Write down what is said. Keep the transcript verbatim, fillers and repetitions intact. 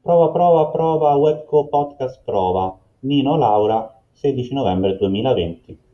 Prova, prova, prova, Webco Podcast prova. Nino Laura, sedici novembre duemilaventi.